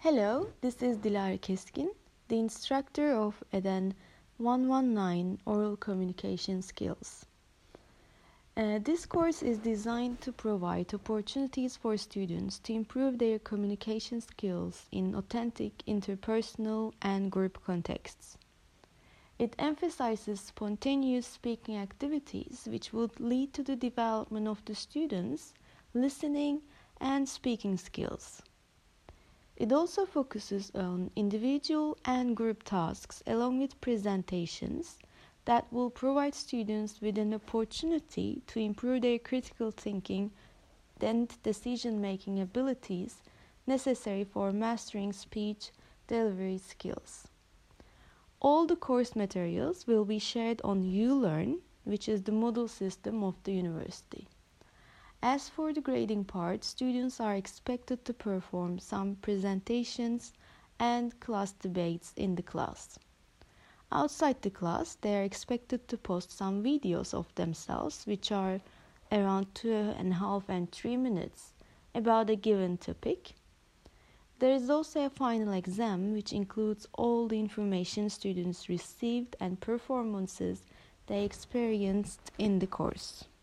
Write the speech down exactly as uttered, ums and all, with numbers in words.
Hello, this is Dilara Keskin, the instructor of EDEN one one nine Oral Communication Skills. Uh, this course is designed to provide opportunities for students to improve their communication skills in authentic interpersonal and group contexts. It emphasizes spontaneous speaking activities which would lead to the development of the students' listening and speaking skills. It also focuses on individual and group tasks along with presentations that will provide students with an opportunity to improve their critical thinking and decision-making abilities necessary for mastering speech delivery skills. All the course materials will be shared on ULearn, which is the Moodle system of the university. As for the grading part, students are expected to perform some presentations and class debates in the class. Outside the class, they are expected to post some videos of themselves, which are around two and a half and three minutes, about a given topic. There is also a final exam, which includes all the information students received and performances they experienced in the course.